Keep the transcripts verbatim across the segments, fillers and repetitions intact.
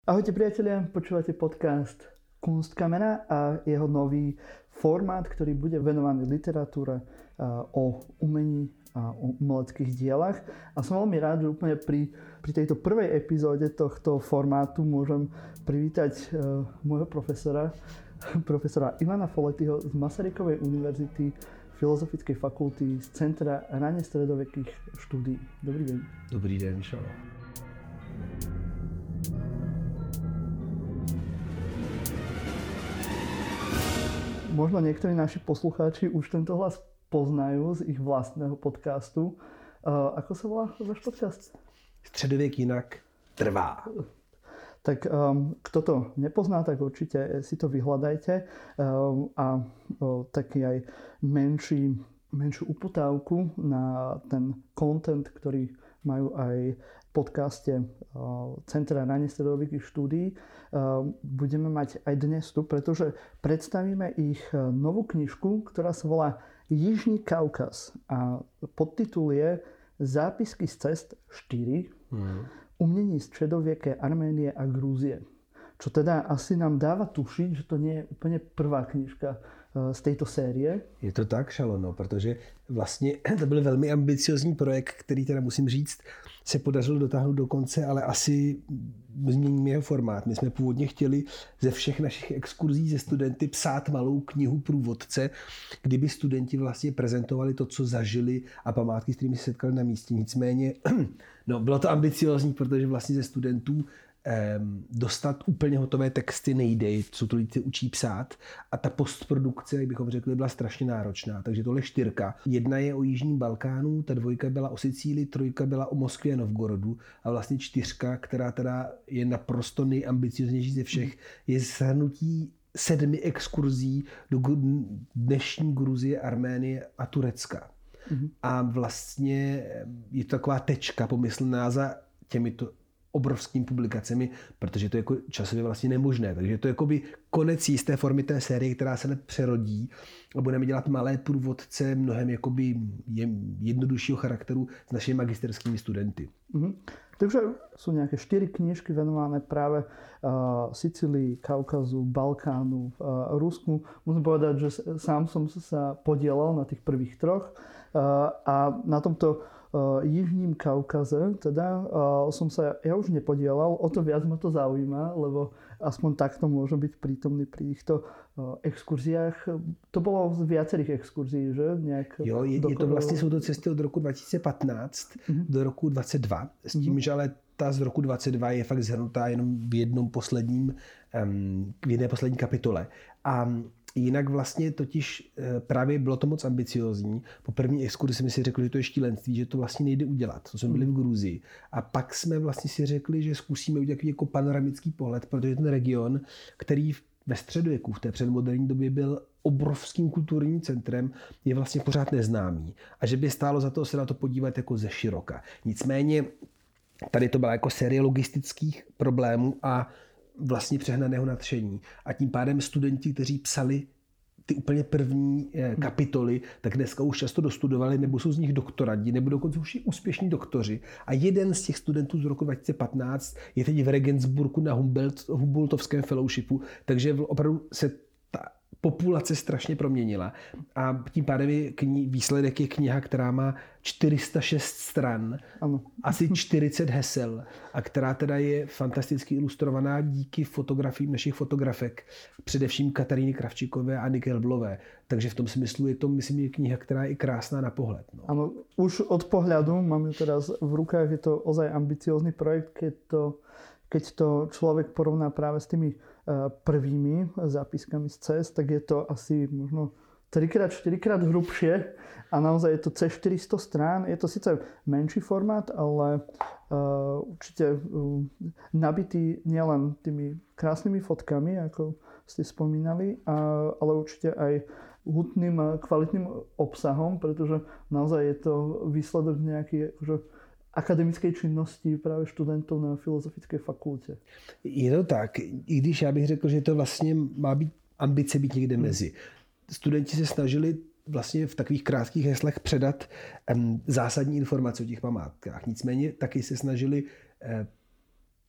Ahojte priatelia, počúvate podcast Kunstkamena a jeho nový formát, ktorý bude venovaný literatúre o umení a o umeleckých dielach. A som veľmi rád, že úplne pri, pri tejto prvej epizóde tohto formátu môžem privítať uh, môjho profesora, profesora Ivana Foletyho z Masarykovej univerzity, Filozofickej fakulty z Centra raně stredovekých štúdií. Dobrý deň. Dobrý den, čau. Možno niektorí naši poslucháči už tento hlas poznajú z ich vlastného podcastu. Uh, ako sa volá váš podcast? Středověk jinak trvá. Tak um, kto to nepozná, tak určite si to vyhľadajte. Um, a uh, taký aj menší, menšiu uputávku na ten content, ktorý majú aj v podcaste uh, Centra raně stredovekých štúdií. Uh, budeme mať aj dnes tu, pretože predstavíme ich novú knižku, ktorá sa volá Jižní Kaukaz. A podtitul je Zápisky z cest štyri. Mm. Umění středověké Arménie a Gruzie. Čo teda asi nám dáva tušiť, že to nie je úplně prvá knižka z této série. Je to tak, Šalono, protože vlastně to byl velmi ambiciozní projekt, který teda musím říct, se podařilo dotáhnout do konce, ale asi změníme jeho formát. My jsme původně chtěli ze všech našich exkurzí ze studenty psát malou knihu průvodce, kdyby studenti vlastně prezentovali to, co zažili a památky, s kterými se setkali na místě. Nicméně, no, bylo to ambiciozní, protože vlastně ze studentů dostat úplně hotové texty nejde, co to lidi učí psát a ta postprodukce, jak bychom řekli, byla strašně náročná, takže tohle čtyřka. Jedna je o Jižním Balkánu, ta dvojka byla o Sicílii, trojka byla o Moskvě a Novgorodu a vlastně čtyřka, která teda je naprosto nejambicioznější ze všech, je shrnutí sedmi exkurzí do dnešní Gruzie, Arménie a Turecka. Mm-hmm. A vlastně je to taková tečka pomyslná za těmito obrovskými publikacemi, protože to je jako časově vlastně nemožné. Takže to je jakoby konec jisté formy té série, která se nepřerodí a budeme dělat malé průvodce mnohem jakoby jednoduššího charakteru s našimi magisterskými studenty. Mm-hmm. Takže sú nejaké štyri knižky venované práve uh, Sicílii, Kaukazu, Balkánu, uh, Rusku. Musím povedať, že sám som sa podielal na tých prvých troch uh, a na tomto Uh, Jižním Kaukaze, teda uh, som sa ja už nepodielal, o to viac ma to zaujíma, lebo aspoň takto môžem byť prítomný pri týchto uh, exkurziách. To bolo z viacerých exkurzí, že? Nejak jo, je, je to vlastně, jsou to cesty od roku dva tisíce patnáct mm-hmm. do roku dvacet dva, s tím, mm-hmm. že ale ta z roku dvacet dva je fakt zhrnutá jenom v jednom posledním, um, v jedné poslední kapitole. A jinak vlastně totiž právě bylo to moc ambiciozní. Po první exkurzi jsme si řekli, že to je šílenství, že to vlastně nejde udělat. To jsme byli v Gruzii. A pak jsme vlastně si řekli, že zkusíme udělat jako panoramický pohled, protože ten region, který ve středověku, v té předmoderní době byl obrovským kulturním centrem, je vlastně pořád neznámý. A že by stálo za to se na to podívat jako ze široka. Nicméně tady to byla jako série logistických problémů a vlastně přehnaného nadšení. A tím pádem studenti, kteří psali ty úplně první kapitoly, tak dneska už často dostudovali, nebo jsou z nich doktorandi, nebo dokonce už i úspěšní doktoři. A jeden z těch studentů z roku dva tisíce patnáct je teď v Regensburgu na Humboldtovském fellowshipu, takže opravdu se ta populace strašně proměnila. A tím pádem je kni- výsledek je kniha, která má čtyři sta šest stran, ano. Asi čtyřicet hesel a která teda je fantasticky ilustrovaná díky fotografiím našich fotografek, především Kataríny Kravčíkové a Anny Kelblové. Takže v tom smyslu je to, myslím, je kniha, která je i krásná na pohled. No. Ano, už od pohľadu, mám ju teraz v rukách, je to ozaj ambiciózny projekt, keď to, keď to človek porovná práve s tými prvými zápiskami z cest, tak je to asi možno trikrát, štyrikrát hrubšie a naozaj je to cez štyristo strán. Je to síce menší formát, ale uh, určite uh, nabitý nielen tými krásnymi fotkami, ako ste spomínali, uh, ale určite aj hutným, kvalitným obsahom, pretože naozaj je to výsledok nejaký akože akademické činnosti právě studentů na Filozofické fakultě. Je to tak, i když já bych řekl, že to vlastně má být ambice být někde hmm. mezi. Studenti se snažili vlastně v takových krátkých heslech předat um, zásadní informace o těch památkách. Nicméně taky se snažili uh,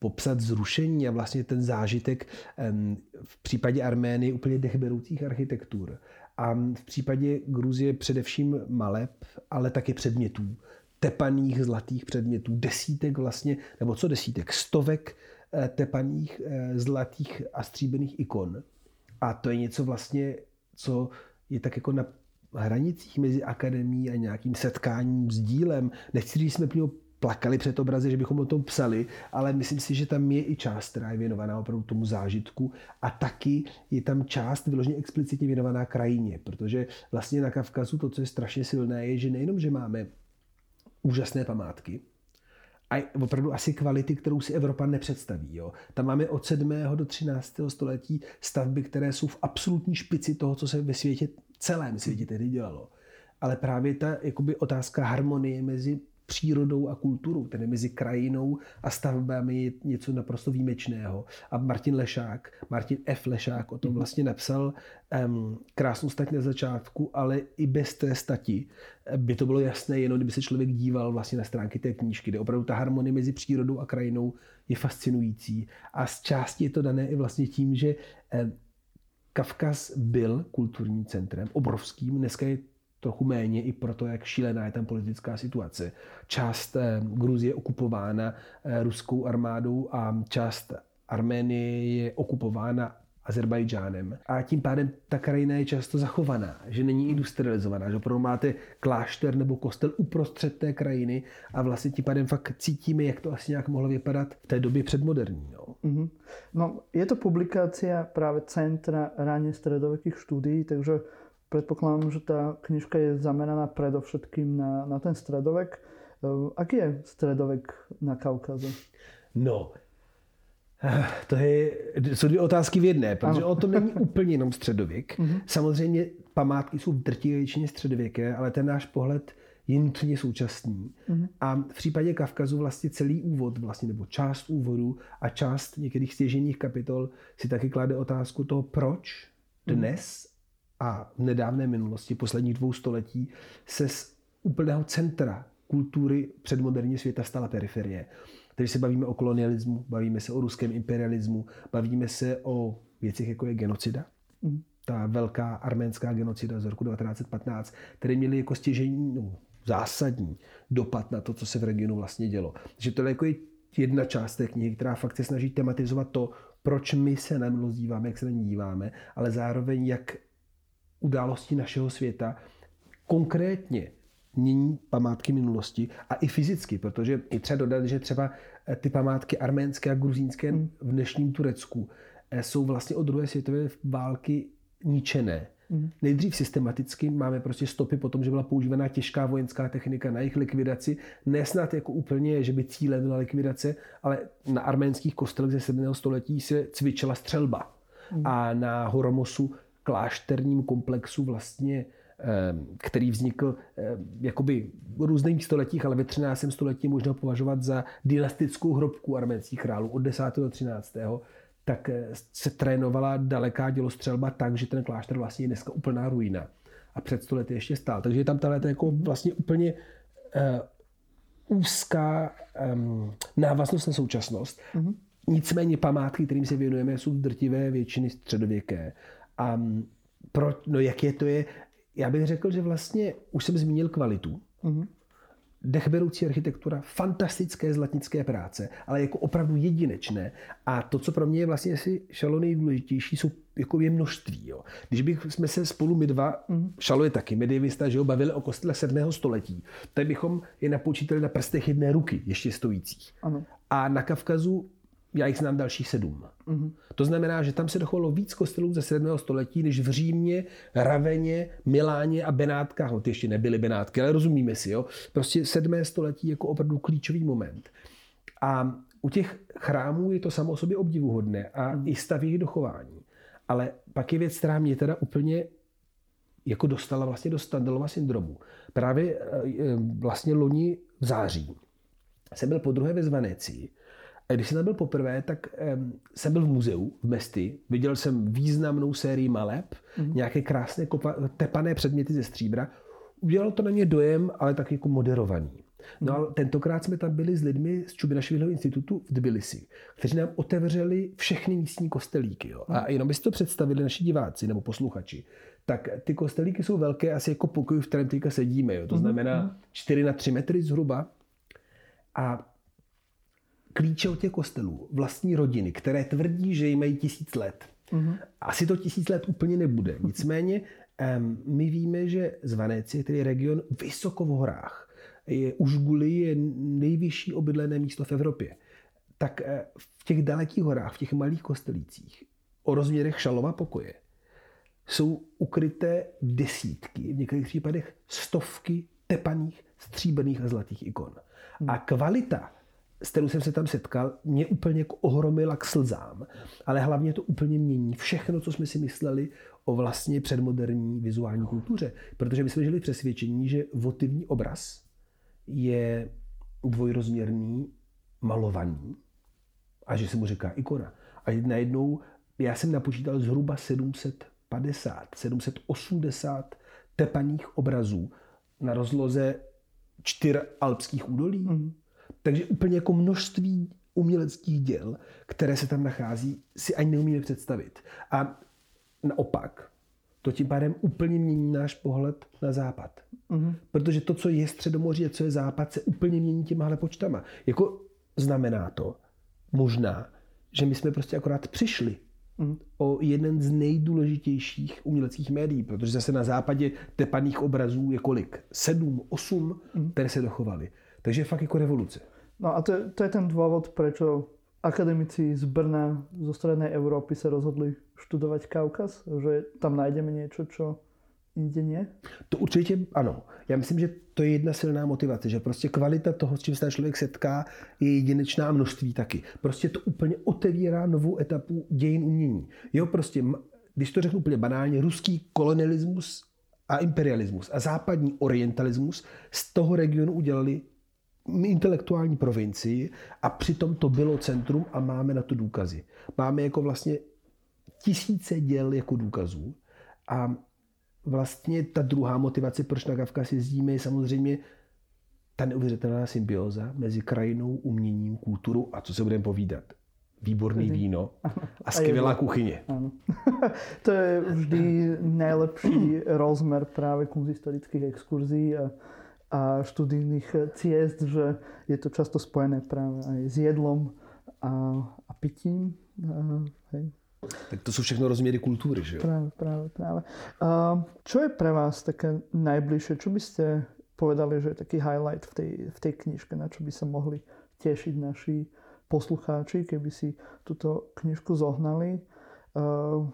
popsat zrušení a vlastně ten zážitek v případě Arménie úplně dechberoucích architektur. A v případě Gruzie především maleb, ale taky předmětů. Tepaných zlatých předmětů, desítek vlastně, nebo co desítek, stovek tepaných zlatých a stříbrných ikon. A to je něco vlastně, co je tak jako na hranicích mezi akademií a nějakým setkáním s dílem. Nechci říct, že jsme plně plakali před obrazy, že bychom o tom psali, ale myslím si, že tam je i část, která je věnovaná opravdu tomu zážitku a taky je tam část vyloženě explicitně věnovaná krajině, protože vlastně na Kavkazu to, co je strašně silné, je, že nejenom, že máme úžasné památky, a opravdu asi kvality, kterou si Evropa nepředstaví. Jo. Tam máme od sedmého do třináctého století stavby, které jsou v absolutní špici toho, co se ve světě, celém světě tehdy dělalo. Ale právě ta jakoby, otázka harmonie mezi přírodou a kulturou, tedy mezi krajinou a stavbami je něco naprosto výjimečného. A Martin Lešák, Martin F. Lešák o tom vlastně napsal um, krásnou stať na začátku, ale i bez té stati by to bylo jasné, jenom kdyby se člověk díval vlastně na stránky té knížky, kde opravdu ta harmonie mezi přírodou a krajinou je fascinující. A z části je to dané i vlastně tím, že um, Kavkaz byl kulturním centrem, obrovským, dneska je trochu méně i proto, jak šílená je tam politická situace. Část Gruzie je okupována ruskou armádou a část Arménie je okupována Azerbajdžánem. A tím pádem ta krajina je často zachovaná, že není industrializovaná, že opravdu máte klášter nebo kostel uprostřed té krajiny a vlastně tím pádem fakt cítíme, jak to asi nějak mohlo vypadat v té době předmoderní. No, mm-hmm. No je to publikácia práve Centra ráne stredovekých štúdií, takže predpokladám, že tá knižka je zameraná predovšetkým na, na ten stredovek. Aký je stredovek na Kaukaze? No, to je, jsou dvě otázky v jedné, protože o to není úplně jenom středověk. Mm-hmm. Samozřejmě památky jsou v drtivé většině středověké, ale ten náš pohled je nutně současný. Mm-hmm. A v případě Kavkazu vlastně celý úvod, vlastně, nebo část úvodu a část některých stěžejních kapitol si taky klade otázku toho, proč dnes mm-hmm. a v nedávné minulosti, posledních dvou století, se z úplného centra kultury předmoderního světa stala periferie. Takže se bavíme o kolonialismu, bavíme se o ruském imperialismu, bavíme se o věcech, jako je genocida. Mm. Ta velká arménská genocida z roku devatenáct patnáct, které měly jako stěžejní, no, zásadní dopad na to, co se v regionu vlastně dělo. Takže to je jako jedna část té knihy, která fakt se snaží tematizovat to, proč my se na minulost díváme, jak se na ní díváme, ale zároveň jak události našeho světa konkrétně mění památky minulosti a i fyzicky, protože i třeba dodat, že třeba ty památky arménské a gruzínské v dnešním Turecku jsou vlastně od druhé světové války ničené. Mm. Nejdřív systematicky máme prostě stopy po tom, že byla používaná těžká vojenská technika na jejich likvidaci. Nesnad jako úplně, že by cílem byla likvidace, ale na arménských kostelech ze sedmého století se cvičila střelba. Mm. A na Horomosu, klášterním komplexu vlastně, který vznikl jakoby v různých stoletích, ale ve třináctém století možná považovat za dynastickou hrobku arménských králů od desátého do třináctého tak se trénovala daleká dělostřelba tak, že ten klášter vlastně je dneska úplná ruina. A před sto lety ještě stál. Takže je tam tahle jako vlastně úplně uh, úzká um, návaznost na současnost. Mm-hmm. Nicméně památky, kterým se věnujeme, jsou drtivé většiny středověké. A um, pro, no jak je to je, já bych řekl, že vlastně už jsem zmínil kvalitu. Mm-hmm. Dechberoucí architektura, fantastické zlatnické práce, ale jako opravdu jedinečné. A to, co pro mě je vlastně asi Šalo nejdůležitější, jsou jako je množství. Jo. Když bych jsme se spolu my dva, mm. Šalo je taky medievista, že jo, bavili o kostele sedmého století, tak bychom je napočítali na prstech jedné ruky, ještě stojících. Ano. A na Kavkazu já jich znám dalších sedm. Mm-hmm. To znamená, že tam se dochovalo víc kostelů ze sedmého století, než v Římě, Raveně, Miláně a Benátkách. No, ty ještě nebyly Benátky, ale rozumíme si. Jo? Prostě sedmé století jako opravdu klíčový moment. A u těch chrámů je to samo o sobě obdivuhodné a mm. i stav jejich dochování. Ale pak je věc, která mě teda úplně jako dostala vlastně do Standalova syndromu. Právě vlastně loni v září jsem byl podruhé ve Zvanecii. A když jsem tam byl poprvé, tak um, jsem byl v muzeu v Mesti. Viděl jsem významnou sérii maleb, mm-hmm. nějaké krásné kopa, tepané předměty ze stříbra. Udělalo to na mě dojem, ale tak jako moderovaný. No a tentokrát jsme tam byli s lidmi z Čubinašviliho institutu v Tbilisi, kteří nám otevřeli všechny místní kostelíky. Jo. A jenom byste to představili naši diváci nebo posluchači, tak ty kostelíky jsou velké asi jako pokoj, v kterém teďka sedíme. Jo. To znamená čtyři na tři metry zhruba. A klíče od těch kostelů vlastní rodiny, které tvrdí, že jim mají tisíc let. Mm-hmm. Asi to tisíc let úplně nebude. Nicméně um, my víme, že Zvaneci, který je region vysoko v horách, je, Užguli je nejvyšší obydlené místo v Evropě. Tak uh, v těch dalekých horách, v těch malých kostelících, o rozměrech Šalova pokoje, jsou ukryté desítky, v některých případech stovky tepaných, stříbrných a zlatých ikon. Mm. A kvalita, s kterou jsem se tam setkal, mě úplně jako ohromila k slzám. Ale hlavně to úplně mění všechno, co jsme si mysleli o vlastně předmoderní vizuální kultuře. Protože my jsme žili v přesvědčení, že votivní obraz je dvojrozměrný, malovaný a že se mu říká ikona. A najednou já jsem napočítal zhruba sedm set padesát, sedm set osmdesát tepaných obrazů na rozloze čtyř alpských údolí. Mm. Takže úplně jako množství uměleckých děl, které se tam nachází, si ani neumíme představit. A naopak, to tím pádem úplně mění náš pohled na západ. Mm-hmm. Protože to, co je Středomoří a co je západ, se úplně mění těmahle počtama. Jako znamená to možná, že my jsme prostě akorát přišli mm. o jeden z nejdůležitějších uměleckých médií, protože zase na západě tepaných obrazů je kolik? Sedm, osm, mm. které se dochovaly. Takže je fakt jako revoluce. No a to, to je ten dôvod, prečo akademici z Brna, zo strednej Európy sa rozhodli študovať Kaukaz? Že tam nájdeme niečo, čo inde nie? To určitě ano. Já myslím, že to je jedna silná motivace, že prostě kvalita toho, s čím se ten člověk setká, je jedinečná a množství taky. Prostě to úplně otevírá novou etapu dějin umění. Jo, prostě, když to řeknu úplně banálně, ruský kolonialismus a imperialismus a západní orientalismus z toho regionu udělali intelektuální provincii a přitom to bylo centrum a máme na to důkazy. Máme jako vlastně tisíce děl jako důkazů a vlastně ta druhá motivace, proč na Kavkaz jezdíme, je samozřejmě ta neuvěřitelná symbioza mezi krajinou, uměním, kulturou a co se budeme povídat. Výborný víno a skvělá kuchyně. Ano. To je vždy nejlepší rozmer právě kunsthistorických exkurzí a a študijných ciest, že je to často spojené práve aj s jedlom a, a pitím. A, hej. Tak to sú všechno rozmiery kultúry, že jo? Práve, práve, práve. A čo je pre vás také najbližšie? Čo by ste povedali, že je taký highlight v tej, v tej knižke, na čo by sa mohli tešiť naši poslucháči, keby si túto knižku zohnali? A,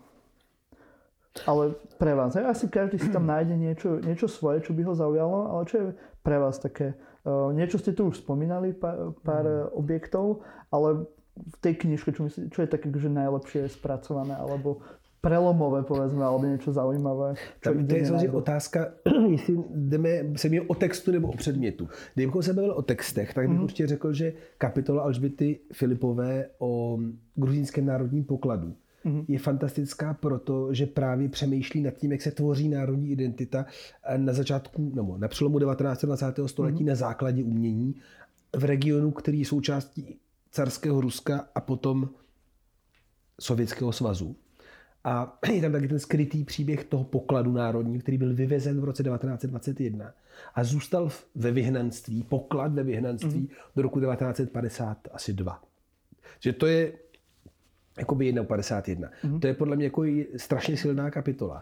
ale pre vás, asi každý si tam nájde niečo, niečo svoje, čo by ho zaujalo, ale čo je pre vás také, uh, niečo ste tu už spomínali, pár, pár mm. objektov, ale v tej knižke, čo, myslí, čo je také, že najlepšie spracované, alebo prelomové, povedzme, alebo niečo zaujímavé. Tam, to je samozřejmě otázka, jestli jdeme se mi o textu nebo o předmětu. Kdybychom se bavili o textech, tak bych mm. určitě řekl, že kapitola Alžběty Filipové o gruzínském národním pokladu je fantastická proto, že právě přemýšlí nad tím, jak se tvoří národní identita na začátku, nebo na přelomu devatenáctého a dvacátého století mm. na základě umění v regionu, který je součástí carského Ruska a potom Sovětského svazu. A je tam taky ten skrytý příběh toho pokladu národní, který byl vyvezen v roce devatenáct set dvacet jedna a zůstal ve vyhnanství, poklad ve vyhnanství mm. do roku devatenáct set padesát dva. Že to je jakoby jedna padesát jedna. Mm. To je podle mě jako strašně silná kapitola.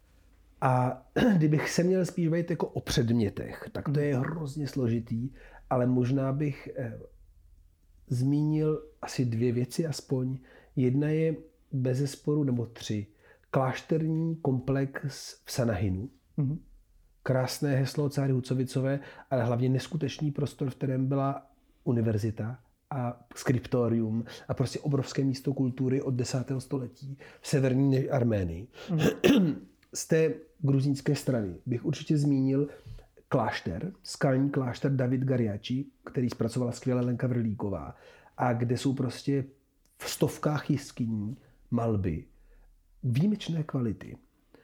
A kdybych se měl spíš bavit jako o předmětech, tak to je hrozně složitý, ale možná bych eh, zmínil asi dvě věci aspoň. Jedna je bezesporu, nebo tři, klášterní komplex v Sanahinu. Mm. Krásné heslo Cáry Hucovicové, ale hlavně neskutečný prostor, v kterém byla univerzita a skriptorium a prostě obrovské místo kultury od desátého století v severní Arménii. Mm. Z té gruzínské strany bych určitě zmínil klášter, skalní klášter David Garjači, který zpracovala skvěle Lenka Vrlíková a kde jsou prostě v stovkách jeskyní malby výjimečné kvality.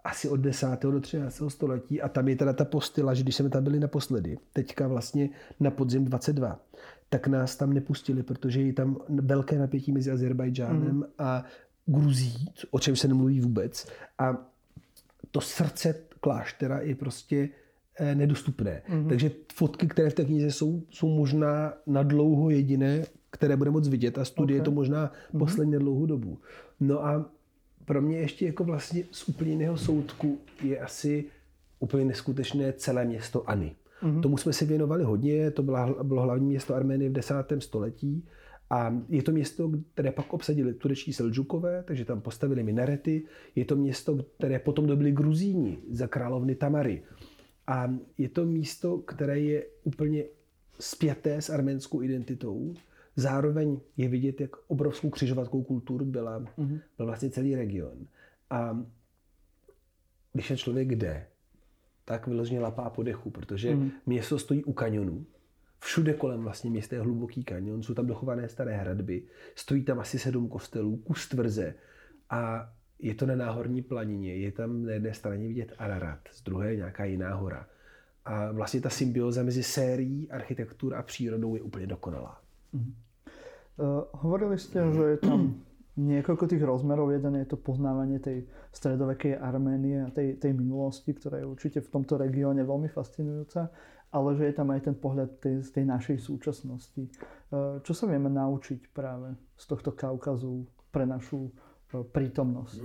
asi od desátého do třináctého století a tam je teda ta postila, že když jsme tam byli naposledy, teďka vlastně na podzim dvacet dva, tak nás tam nepustili, protože je tam velké napětí mezi Azerbajdžánem mm. a Gruzí, o čem se nemluví vůbec. A to srdce kláštera je prostě nedostupné. Mm. Takže fotky, které v té knize jsou, jsou možná na dlouho jediné, které bude moc vidět a studie okay. to možná mm. posledně dlouhou dobu. No a pro mě ještě jako vlastně z úplně jiného soudku je asi úplně neskutečné celé město Ani. Mm-hmm. Tomu jsme se věnovali hodně, to byla, bylo hlavní město Arménie v desátém století a je to město, které pak obsadili turečtí Seldžukové, takže tam postavili minarety. Je to město, které potom dobili Gruzíni za královny Tamary. A je to místo, které je úplně spjaté s arménskou identitou. Zároveň je vidět, jak obrovskou křižovatkou kultur byla, mm-hmm. byl vlastně celý region. A když ten člověk jde, tak vyloženě lapá po dechu, protože mm-hmm. město stojí u kanionu. Všude kolem vlastně města je hluboký kanion, jsou tam dochované staré hradby, stojí tam asi sedm kostelů, kus tvrze a je to na náhorní planině. Je tam na jedné straně vidět Ararat, z druhé nějaká jiná hora. A vlastně ta symbioza mezi sérií, architektur a přírodou je úplně dokonalá. Mm-hmm. Uh, hovorili ste, že je tam niekoľko tých rozmerov. Jeden je to poznávanie tej stredovekej Arménie a tej, tej minulosti, ktorá je určite v tomto regióne veľmi fascinujúca, ale že je tam aj ten pohľad tej, z tej našej súčasnosti. Uh, čo sa vieme naučiť práve z tohto Kaukazu pre našu uh, prítomnosť?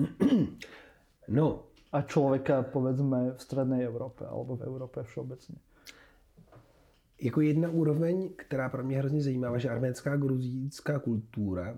No. A človeka, povedzme, v strednej Európe alebo v Európe všeobecne. Jako jedna úroveň, která pro mě hrozně zajímavá, že arménská gruzínská kultura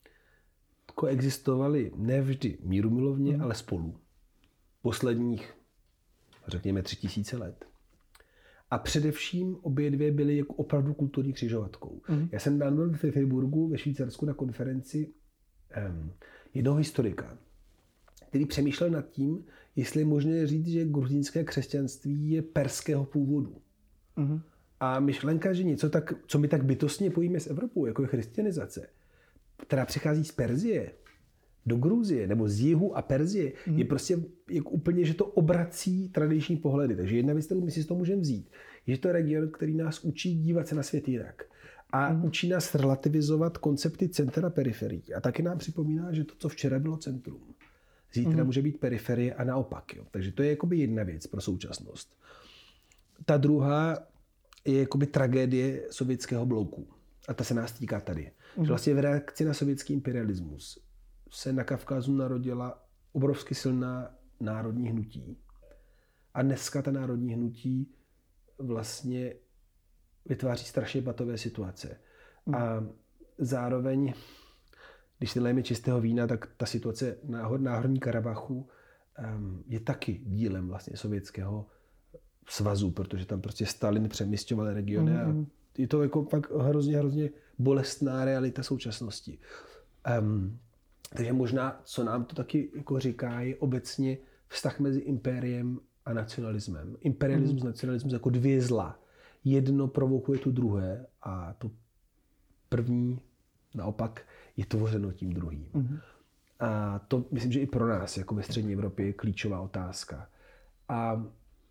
koexistovaly nevždy mírumilovně, mm. ale spolu. Posledních, řekněme, tři tisíce let. A především obě dvě byly jako opravdu kulturní křižovatkou. Mm. Já jsem byl v Freiburgu ve Švýcarsku na konferenci um, jednoho historika, který přemýšlel nad tím, jestli je možné říct, že gruzínské křesťanství je perského původu. Mm. A myšlenka, že něco tak, co my tak bytostně pojíme s Evropou, jako je christianizace, která přichází z Perzie do Gruzie, nebo z jihu a Perzie, mm. je prostě jako úplně, že to obrací tradiční pohledy. Takže jedna věc, kterou my si z toho můžeme vzít, je, že to je region, který nás učí dívat se na svět jinak. A mm. učí nás relativizovat koncepty centra a periferií. A taky nám připomíná, že to, co včera bylo centrum, zítra mm. může být periferie a naopak. Jo. Takže to je jakoby jedna věc pro současnost. Ta druhá je jakoby tragédie sovětského bloku. A ta se nás týká tady. Mm. Že vlastně v reakci na sovětský imperialismus se na Kavkazu narodila obrovsky silná národní hnutí. A dneska ta národní hnutí vlastně vytváří strašně patové situace. Mm. A zároveň, když si lejeme čistého vína, tak ta situace na Náhorní Karabachu um, je taky dílem vlastně sovětského svazu, protože tam prostě Stalin přemisťoval regiony mm-hmm. a je to jako fakt hrozně, hrozně bolestná realita současnosti. Um, takže možná, co nám to taky jako říká, je obecně vztah mezi impériem a nacionalismem. Imperialismus mm-hmm. a nacionalismus jako dvě zla. Jedno provokuje tu druhé a to první naopak je tvořeno tím druhým. Mm-hmm. A to myslím, že i pro nás, jako ve střední Evropě, je klíčová otázka. A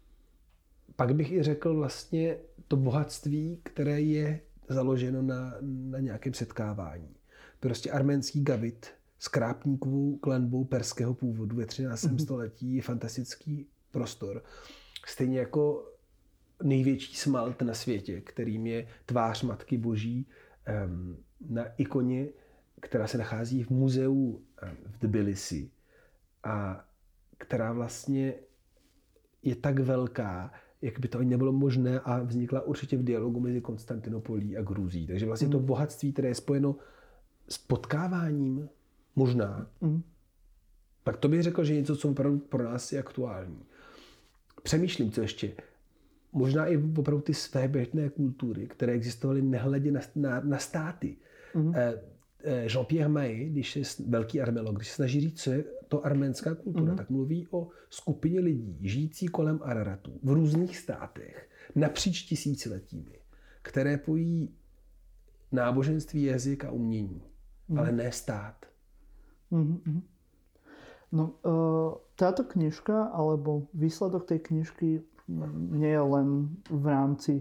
pak bych i řekl vlastně to bohatství, které je založeno na, na nějakém setkávání. Prostě arménský gavit s krápníkovou klenbou perského původu ve třináctém Mm-hmm. století je fantastický prostor. Stejně jako největší smalt na světě, kterým je tvář Matky Boží um, na ikoně, která se nachází v muzeu um, v Tbilisi a která vlastně je tak velká, jak by to ani nebylo možné a vznikla určitě v dialogu mezi Konstantinopolí a Gruzí. Takže vlastně mm. to bohatství, které je spojeno s potkáváním, možná, mm. tak to bych řekl, že něco, co opravdu pro nás je aktuální. Přemýšlím, co ještě. Možná i opravdu ty svébytné kultury, které existovaly nehledě na, na, na státy. Mm. Jean-Pierre Maé, když je velký armeolog, když se snaží říct, co je to arménská kultura, mm. tak mluví o skupině lidí žijící kolem Araratu v různých státech napříč tisíciletími, které pojí náboženství, jazyk a umění, mm. ale ne stát. Mm-hmm. No, uh, táto knižka alebo výsledok tej knižky nie je len v rámci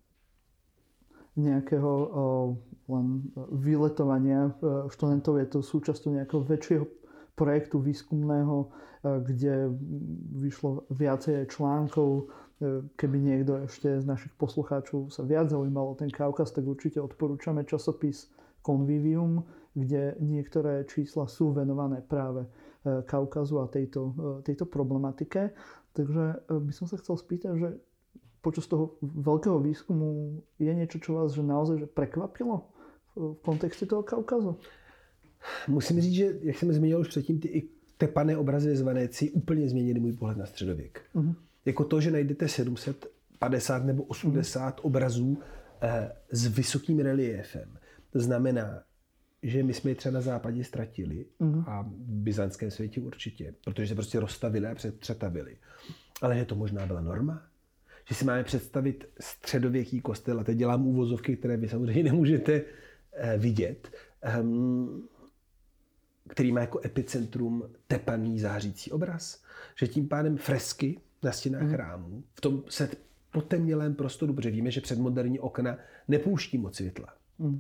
nejakého len vyletovania študentov, je to súčasťou nejakého väčšieho projektu výskumného, kde vyšlo viacej článkov. Keby niekto ešte z našich poslucháčov sa viac zaujímal o ten Kaukaz, tak určite odporúčame časopis Convivium, kde niektoré čísla sú venované práve Kaukazu a tejto, tejto problematike. Takže by som sa chcel spýtať, že počas toho veľkého výskumu je niečo, čo vás že naozaj že prekvapilo v kontexte toho Kaukazu? Musím říct, že jak jsem zmínil už předtím, ty i tepané obrazy z Venecji úplně změnily můj pohled na středověk. Uh-huh. Jako to, že najdete sedm set padesát nebo osmdesát uh-huh. obrazů eh, s vysokým reliéfem. To znamená, že my jsme je třeba na západě ztratili uh-huh. a v byzantském světě určitě, protože se prostě rozstavili a přetavili. Ale že to možná byla norma. Že si máme představit středověký kostel, a teď dělám úvozovky, které vy samozřejmě nemůžete eh, vidět, um, který má jako epicentrum tepaný zářící obraz. Že tím pádem fresky na stěnách mm. chrámů v tom se potemnělém prostoru, protože víme, že předmoderní okna nepouští moc světla, mm.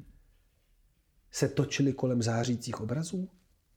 se točily kolem zářících obrazů,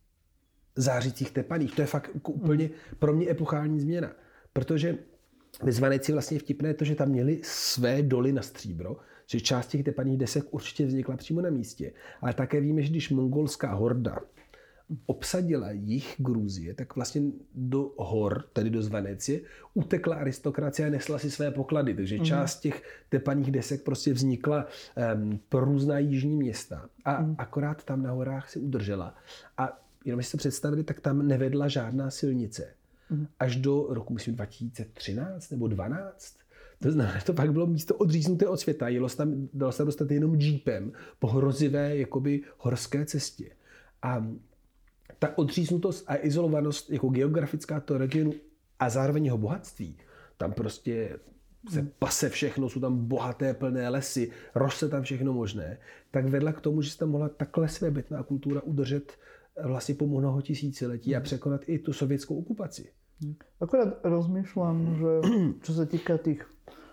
zářících tepaných. To je fakt jako úplně mm. pro mě epochální změna. Protože ve Zvaneci vlastně vtipné to, že tam měli své doly na stříbro, že část těch tepaných desek určitě vznikla přímo na místě. Ale také víme, že když mongolská horda obsadila jih Gruzie, tak vlastně do hor, tedy do Zvanecie, utekla aristokracie a nesla si své poklady. Takže mm. část těch tepaných desek prostě vznikla um, pro různá jižní města. A mm. akorát tam na horách si udržela. A jenom si to představili, tak tam nevedla žádná silnice. Mm. Až do roku, myslím, dva tisíce třináct nebo dvanáct. To znamená, že to pak bylo místo odříznuté od světa. Jelo se tam, dalo se dostat jenom džípem po hrozivé jakoby horské cestě. A ta odříznutost a izolovanost jako geografická toho regionu a zároveň jeho bohatství, tam prostě se pase všechno, jsou tam bohaté plné lesy, roste tam všechno možné, tak vedla k tomu, že se tam mohla takhle svébytná kultura udržet vlastně po mnoho tisíciletí a překonat i tu sovětskou okupaci. Akorát rozmýšľam, že čo sa týka tých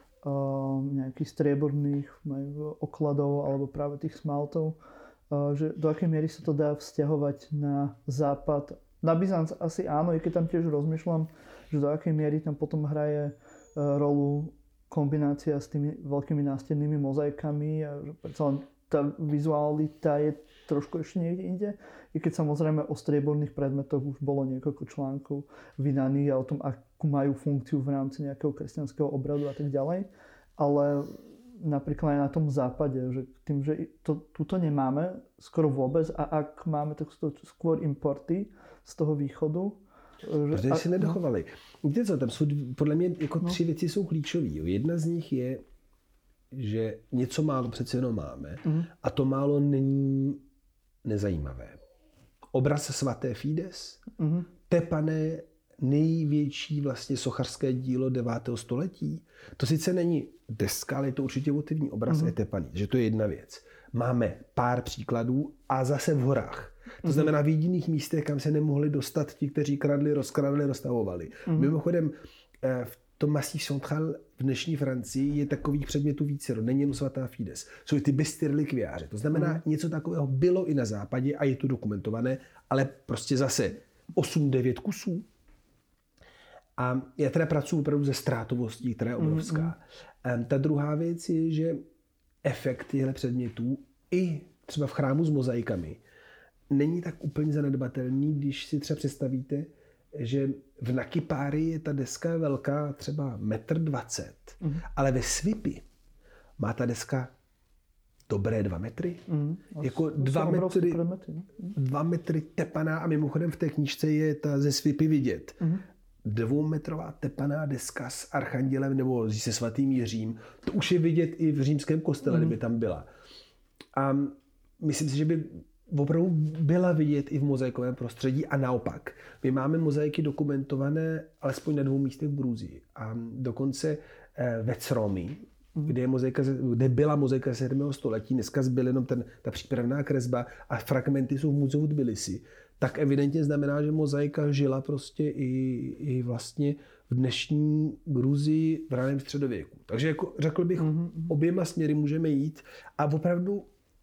uh, nejakých strieborných okladov alebo práve tých smaltov, uh, že do akej miery sa to dá vzťahovať na západ. Na Byzanc asi áno, i keď tam tiež rozmýšľam, že do akej miery tam potom hraje uh, rolu kombinácia s tými veľkými nástennými mozaikami a že predsa len tá vizualita je trošku ešte niekde inde. I keď samozrejme o strieborných predmetoch už bolo niekoľko článkov vydaných a o tom, akú majú funkciu v rámci nejakého kresťanského obradu a tak ďalej. Ale napríklad aj na tom západe, že tým, že to tuto nemáme skoro vôbec a ak máme, tak sú to skôr importy z toho východu. Že, protože si nedochovali. Víte co, tam jsou podle mě jako no. tři věci jsou klíčové. Jedna z nich je, že něco málo přece jenom máme mm. a to málo není nezajímavé. Obraz svaté Fides, mm. tepané největší vlastně sochařské dílo devátého století. To sice není deska, ale je to určitě votivní obraz, mm. je tepaný. Že to je jedna věc. Máme pár příkladů a zase v horách. To znamená v jediných místech, kam se nemohli dostat ti, kteří kradli, rozkradli, rozstavovali. Mm. Mimochodem, v tom Massif Central v dnešní Francii je takových předmětů vícero. Není jen svatá Fides. Jsou ty bysty relikviáře. To znamená, mm. něco takového bylo i na západě a je to dokumentované, ale prostě zase osm devět kusů. A já teda pracuji opravdu ze ztrátovostí, která je obrovská. Mm. Ta druhá věc je, že efekt těchto předmětů i třeba v chrámu s mozaikami není tak úplně zanedbatelný, když si třeba představíte, že v Nakipári je ta deska velká třeba metr dvacet, mm. ale ve Svipi má ta deska dobré dva metry. Mm. Jako dva metry, dva metry tepaná a mimochodem v té knížce je ta ze Svipy vidět. Mm. Dvoumetrová tepaná deska s archandělem nebo se svatým Jiřím. To už je vidět i v římském kostele, mm. kdyby tam byla. A myslím si, že by opravdu byla vidět i v mozaikovém prostředí a naopak. My máme mozaiky dokumentované alespoň na dvou místech v Gruzii. A dokonce ve Cromi, kde, je mozaika, kde byla mozaika sedmého století, dneska zbyl jenom ten, ta přípravná kresba a fragmenty jsou v muzeu Tbilisi, tak evidentně znamená, že mozaika žila prostě i, i vlastně v dnešní Gruzii v raném středověku. Takže jako řekl bych, mm-hmm. oběma směry můžeme jít a opravdu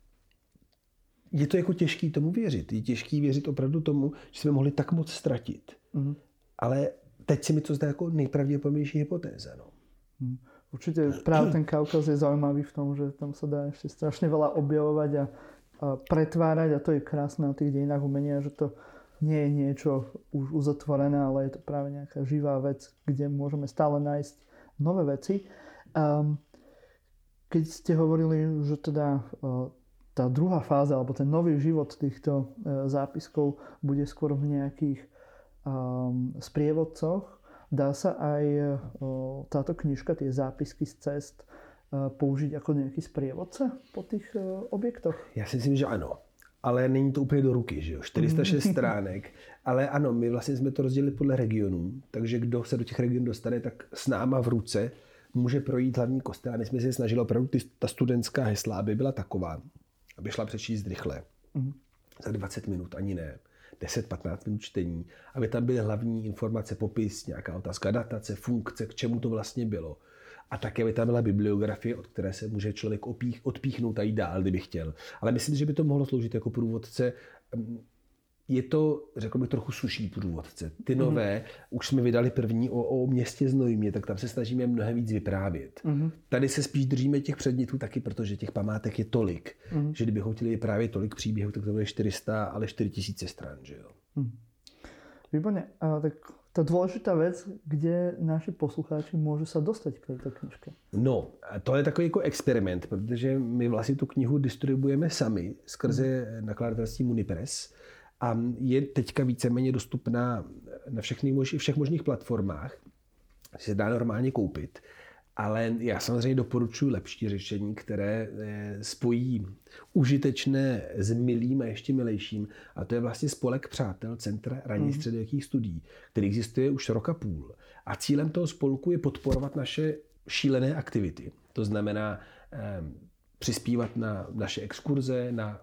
je to jako těžký tomu věřit. Je těžký věřit opravdu tomu, že jsme mohli tak moc ztratit. Mm-hmm. Ale teď si mi to zdá jako nejpravděpodobnější hypotéza. No. Mm. Určite práve ten Kaukaz je zaujímavý v tom, že tam sa dá ešte strašne veľa objavovať a, a pretvárať a to je krásne na tých dejinách umenia, že to nie je niečo už uzatvorené, ale je to práve nejaká živá vec, kde môžeme stále nájsť nové veci. Um, keď ste hovorili, že teda uh, tá druhá fáza alebo ten nový život týchto uh, zápiskov bude skôr v nejakých um, sprievodcoch, dá sa aj uh, táto knižka, tie zápisky z cest, uh, použiť ako nejaký sprievodce po tých uh, objektoch? Já si myslím, že ano. Ale není to úplně do ruky, že jo? čtyři sta šest stránek. Ale ano, my vlastně jsme to rozdělili podle regionů, takže kdo se do těch regionů dostane, tak s náma v ruce může projít hlavní kostel. A my jsme se snažili opravdu, ty, ta studentská hesla, aby byla taková, aby šla přečíst rychle. Mm. Za dvacet minut, ani ne. deset patnáct minut čtení, aby tam byly hlavní informace, popis, nějaká otázka, datace, funkce, k čemu to vlastně bylo. A také by tam byla bibliografie, od které se může člověk opích, odpíchnout a jít dál, kdyby chtěl. Ale myslím, že by to mohlo sloužit jako průvodce. Je to, řekl bych, trochu suší průvodce. Ty nové, mm. už jsme vydali první o, o městě Znojmě, tak tam se snažíme mnohem víc vyprávět. Mm. Tady se spíš držíme těch předmětů taky, protože těch památek je tolik, mm. že kdybychom chtěli vyprávět tolik příběhů, tak to bude čtyři sta, ale čtyři tisíce stran, že jo. Mm. Výborne. A tak tá dôležitá vec, kde naši poslucháči môžu sa dostať k tejto knižke? No, to je takový jako experiment, protože my vlastně tu knihu distribuujeme sami skrze mm. nakladatelství Munipress a je teďka víceméně dostupná na všechny, všech možných platformách, se dá normálně koupit. Ale já samozřejmě doporučuji lepší řešení, které spojí užitečné s milým a ještě milejším. A to je vlastně spolek přátel Centra raných středověkých studií, který existuje už rok a půl. A cílem toho spolku je podporovat naše šílené aktivity. To znamená eh, přispívat na naše exkurze, na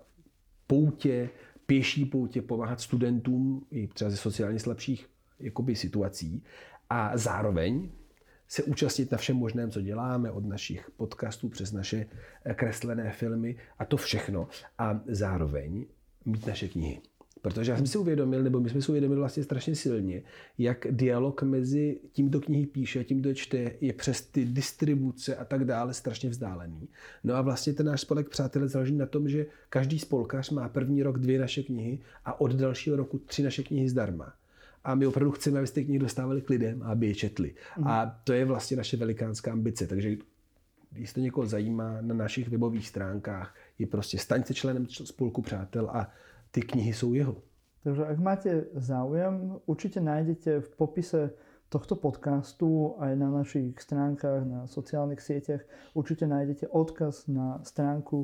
poutě, pěší poutě, pomáhat studentům i třeba ze sociálně slabších jakoby, situací. A zároveň se účastnit na všem možném, co děláme, od našich podcastů přes naše kreslené filmy a to všechno. A zároveň mít naše knihy. Protože já jsem si uvědomil, nebo my jsme si uvědomili vlastně strašně silně, jak dialog mezi tím, kdo knihy píše a tím, kdo čte, je přes ty distribuce a tak dále strašně vzdálený. No a vlastně ten náš spolek přátelé záleží na tom, že každý spolkař má první rok dvě naše knihy a od dalšího roku tři naše knihy zdarma. A my opravdu chceme, aby ty knihy dostávali k lidem a aby je četli. Mm. A to je vlastně naše velikánská ambice. Takže když to někoho zajímá, na našich webových stránkách je prostě staň se členem spolku přátel a ty knihy jsou jeho. Takže ak máte záujem, určite nájdete v popise tohto podcastu aj na našich stránkach, na sociálnych sieťach, určite nájdete odkaz na stránku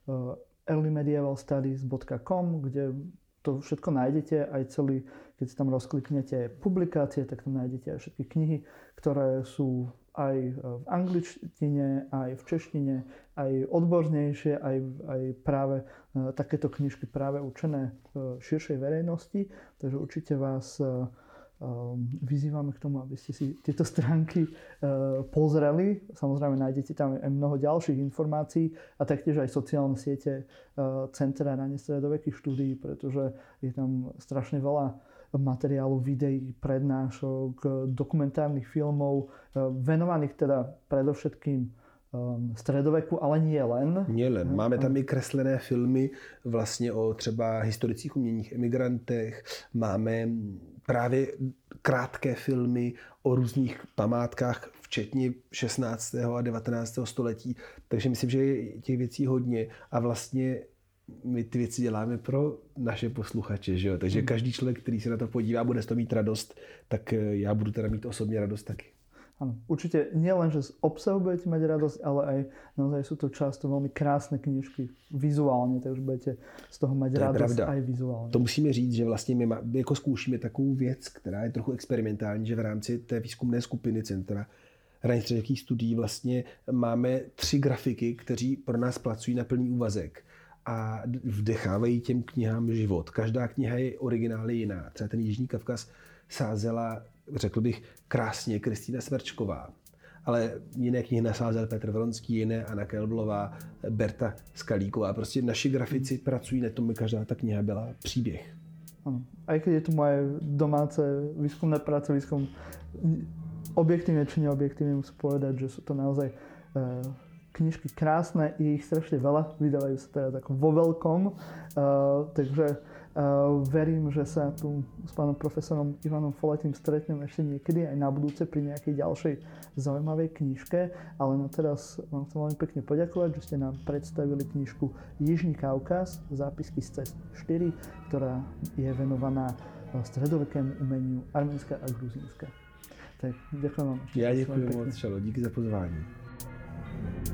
early medieval studies dot com, kde to všetko nájdete, aj celý, keď si tam rozkliknete publikácie, tak tam nájdete aj všetky knihy, ktoré sú aj v angličtine, aj v češtine, aj odbornejšie, aj, aj práve takéto knižky práve určené širšej verejnosti. Takže určite vás vyzývame k tomu, aby ste si tieto stránky pozreli. Samozrejme nájdete tam aj mnoho ďalších informácií a taktiež aj sociálne siete Centra raných stredovekých štúdií, pretože je tam strašne veľa materiálu, videí, prednášok, dokumentárnych filmov, venovaných teda predovšetkým středověku, ale nie len. Nie len. Máme tam i kreslené filmy vlastně o třeba historických uměních emigrantech. Máme právě krátké filmy o různých památkách, včetně šestnáctého a devatenáctého století. Takže myslím, že je těch věcí hodně a vlastně my ty věci děláme pro naše posluchače, že jo? Takže každý člověk, který se na to podívá, bude z toho mít radost, tak já budu teda mít osobně radost taky. Áno, určite nie len, že z obsahu budete mať radosť, ale aj naozaj sú to často veľmi krásne knižky vizuálne, takže budete z toho mať radosť aj vizuálně. To musíme říct, že vlastně my jako zkoušíme takovou věc, která je trochu experimentální, že v rámci té výzkumné skupiny Centra raných středověkých studií vlastně máme tři grafiky, kteří pro nás pracují na plný úvazek. a vdechávají těm knihám život. Každá kniha je originály jiná. Třeba ten Jižní Kavkaz sázela, řekl bych, krásně Kristýna Smrčková. Ale jiné knihy nasázel Petr Vronský, jiné Anna Kelblová, Berta Skalíková. Prostě naši grafici pracují na tom, aby každá ta kniha byla příběh. Ano. Aj keď je to moje domáce výskumné práce, výskum objektívne či neobjektívne musím povedať, že sú to naozaj e, knižky krásne, je ich strašne veľa, vydávajú sa teda tak vo veľkom, e, takže Uh, verím, že sa tu s pánom profesorom Ivanom Foletím stretneme ešte niekedy aj na budúce pri nejakej ďalšej zaujímavej knižke, ale na teraz vám chcem veľmi pekne poďakovať, že ste nám predstavili knižku Jižní Kaukaz, zápisky z cest štyri, ktorá je venovaná stredovekému umeniu Arménska a Gruzínska. Tak ďakujem vám. Já děkuji moc, Čalo, díky za pozvání.